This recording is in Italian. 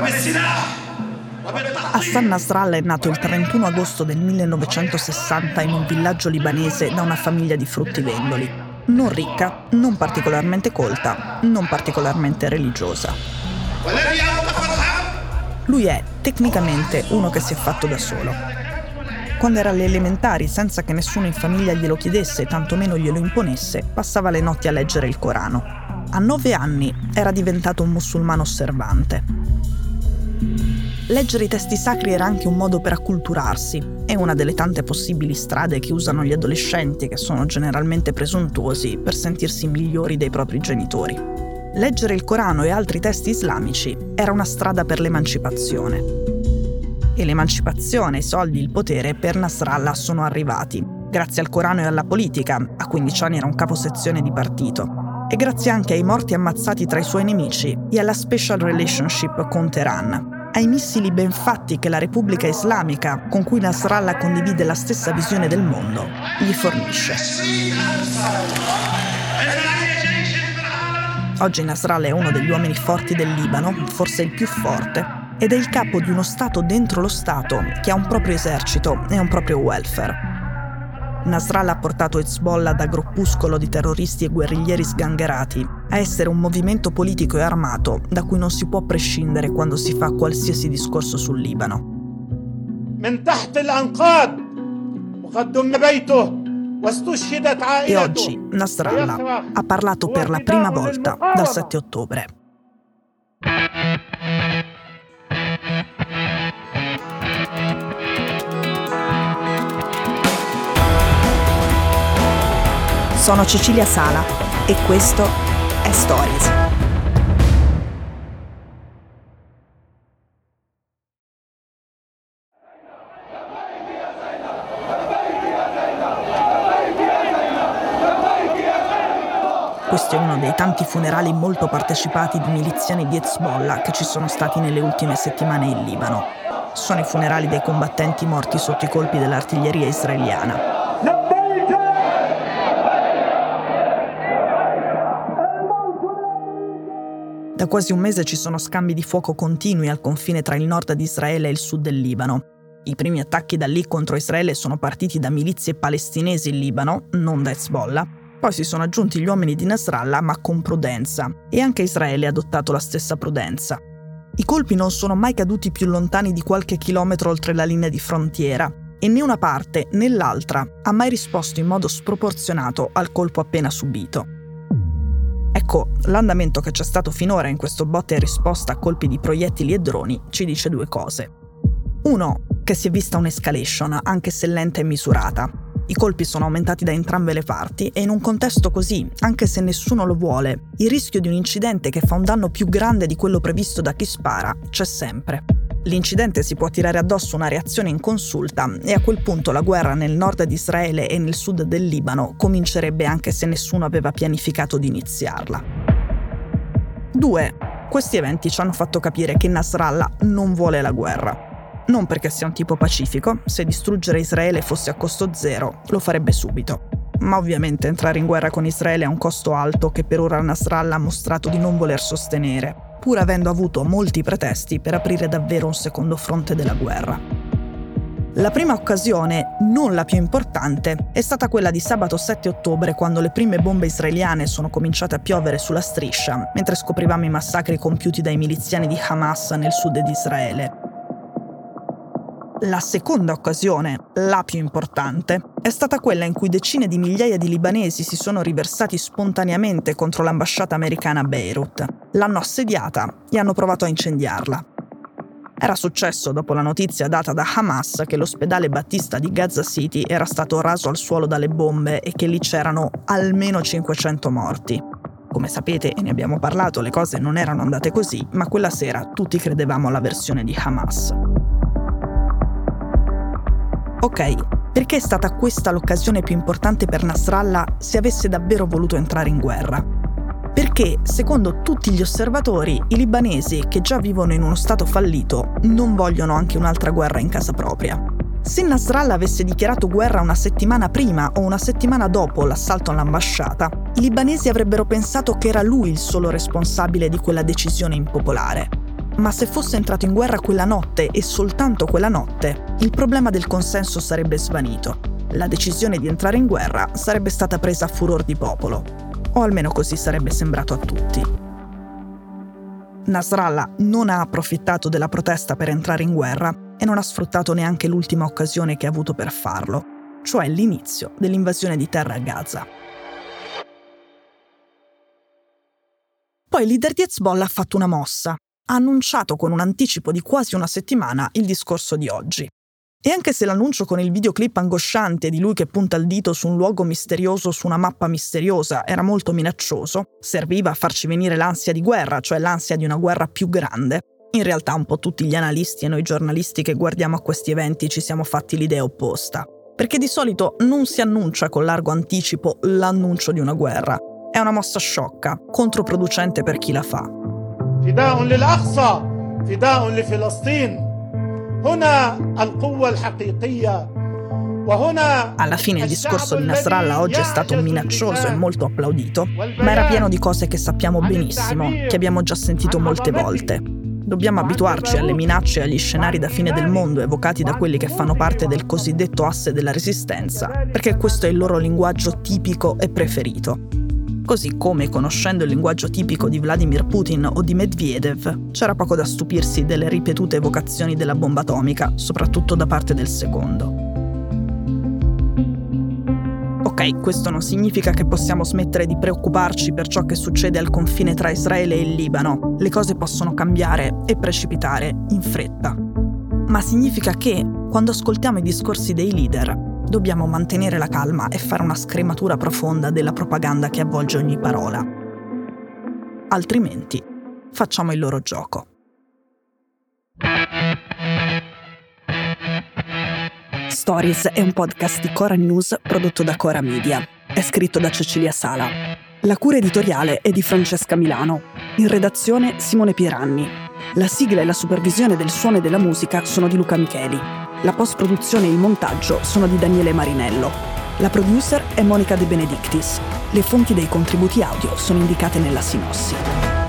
Hassan Nasrallah è nato il 31 agosto del 1960 in un villaggio libanese da una famiglia di fruttivendoli. Non ricca, non particolarmente colta, non particolarmente religiosa. Lui è, tecnicamente, uno che si è fatto da solo. Quando era alle elementari, senza che nessuno in famiglia glielo chiedesse e tantomeno glielo imponesse, passava le notti a leggere il Corano. A 9 anni era diventato un musulmano osservante. Leggere i testi sacri era anche un modo per acculturarsi. È una delle tante possibili strade che usano gli adolescenti, che sono generalmente presuntuosi, per sentirsi migliori dei propri genitori. Leggere il Corano e altri testi islamici era una strada per l'emancipazione. E l'emancipazione, i soldi, il potere per Nasrallah sono arrivati. Grazie al Corano e alla politica, a 15 anni era un caposezione di partito. E grazie anche ai morti ammazzati tra i suoi nemici e alla special relationship con Teheran. Ai missili ben fatti che la Repubblica Islamica, con cui Nasrallah condivide la stessa visione del mondo, gli fornisce. Oggi Nasrallah è uno degli uomini forti del Libano, forse il più forte, ed è il capo di uno Stato dentro lo Stato che ha un proprio esercito e un proprio welfare. Nasrallah ha portato Hezbollah da gruppuscolo di terroristi e guerriglieri sgangherati a essere un movimento politico e armato da cui non si può prescindere quando si fa qualsiasi discorso sul Libano. E oggi Nasrallah ha parlato per la prima volta dal 7 ottobre. Sono Cecilia Sala e questo è Stories. Questo è uno dei tanti funerali molto partecipati di miliziani di Hezbollah che ci sono stati nelle ultime settimane in Libano. Sono i funerali dei combattenti morti sotto i colpi dell'artiglieria israeliana. Da quasi un mese ci sono scambi di fuoco continui al confine tra il nord di Israele e il sud del Libano. I primi attacchi da lì contro Israele sono partiti da milizie palestinesi in Libano, non da Hezbollah. Poi si sono aggiunti gli uomini di Nasrallah, ma con prudenza. E anche Israele ha adottato la stessa prudenza. I colpi non sono mai caduti più lontani di qualche chilometro oltre la linea di frontiera. E né una parte né l'altra ha mai risposto in modo sproporzionato al colpo appena subito. Ecco, l'andamento che c'è stato finora in questo botta e risposta a colpi di proiettili e droni ci dice due cose. Uno, che si è vista un'escalation, anche se lenta e misurata. I colpi sono aumentati da entrambe le parti e in un contesto così, anche se nessuno lo vuole, il rischio di un incidente che fa un danno più grande di quello previsto da chi spara c'è sempre. L'incidente si può tirare addosso una reazione inconsulta e a quel punto la guerra nel nord di Israele e nel sud del Libano comincerebbe anche se nessuno aveva pianificato di iniziarla. 2. Questi eventi ci hanno fatto capire che Nasrallah non vuole la guerra. Non perché sia un tipo pacifico, se distruggere Israele fosse a costo zero, lo farebbe subito. Ma ovviamente entrare in guerra con Israele ha un costo alto che per ora Nasrallah ha mostrato di non voler sostenere, pur avendo avuto molti pretesti per aprire davvero un secondo fronte della guerra. La prima occasione, non la più importante, è stata quella di sabato 7 ottobre quando le prime bombe israeliane sono cominciate a piovere sulla striscia, mentre scoprivamo i massacri compiuti dai miliziani di Hamas nel sud di Israele. La seconda occasione, la più importante, è stata quella in cui decine di migliaia di libanesi si sono riversati spontaneamente contro l'ambasciata americana a Beirut. L'hanno assediata e hanno provato a incendiarla. Era successo dopo la notizia data da Hamas che l'ospedale Battista di Gaza City era stato raso al suolo dalle bombe e che lì c'erano almeno 500 morti. Come sapete, e ne abbiamo parlato, le cose non erano andate così, ma quella sera tutti credevamo alla versione di Hamas. Ok, perché è stata questa l'occasione più importante per Nasrallah se avesse davvero voluto entrare in guerra? Perché, secondo tutti gli osservatori, i libanesi, che già vivono in uno stato fallito, non vogliono anche un'altra guerra in casa propria. Se Nasrallah avesse dichiarato guerra una settimana prima o una settimana dopo l'assalto all'ambasciata, i libanesi avrebbero pensato che era lui il solo responsabile di quella decisione impopolare. Ma se fosse entrato in guerra quella notte e soltanto quella notte, il problema del consenso sarebbe svanito. La decisione di entrare in guerra sarebbe stata presa a furor di popolo, o almeno così sarebbe sembrato a tutti. Nasrallah non ha approfittato della protesta per entrare in guerra e non ha sfruttato neanche l'ultima occasione che ha avuto per farlo, cioè l'inizio dell'invasione di terra a Gaza. Poi il leader di Hezbollah ha fatto una mossa. Ha annunciato con un anticipo di quasi una settimana il discorso di oggi. E anche se l'annuncio con il videoclip angosciante di lui che punta il dito su un luogo misterioso su una mappa misteriosa era molto minaccioso, serviva a farci venire l'ansia di guerra, cioè l'ansia di una guerra più grande, in realtà un po' tutti gli analisti e noi giornalisti che guardiamo a questi eventi ci siamo fatti l'idea opposta. Perché di solito non si annuncia con largo anticipo l'annuncio di una guerra. È una mossa sciocca, controproducente per chi la fa. فداء للأقصى فداء لفلسطين هنا القوة الحقيقية وهنا. Alla fine il discorso di Nasrallah oggi è stato minaccioso e molto applaudito, ma era pieno di cose che sappiamo benissimo, che abbiamo già sentito molte volte. Dobbiamo abituarci alle minacce e agli scenari da fine del mondo evocati da quelli che fanno parte del cosiddetto asse della resistenza, perché questo è il loro linguaggio tipico e preferito. Così come, conoscendo il linguaggio tipico di Vladimir Putin o di Medvedev, c'era poco da stupirsi delle ripetute evocazioni della bomba atomica, soprattutto da parte del secondo. Ok, questo non significa che possiamo smettere di preoccuparci per ciò che succede al confine tra Israele e il Libano. Le cose possono cambiare e precipitare in fretta. Ma significa che, quando ascoltiamo i discorsi dei leader, dobbiamo mantenere la calma e fare una scrematura profonda della propaganda che avvolge ogni parola. Altrimenti, facciamo il loro gioco. Stories è un podcast di Cora News prodotto da Cora Media. È scritto da Cecilia Sala. La cura editoriale è di Francesca Milano. In redazione Simone Pieranni. La sigla e la supervisione del suono e della musica sono di Luca Micheli. La post-produzione e il montaggio sono di Daniele Marinello. La producer è Monica De Benedictis. Le fonti dei contributi audio sono indicate nella sinossi.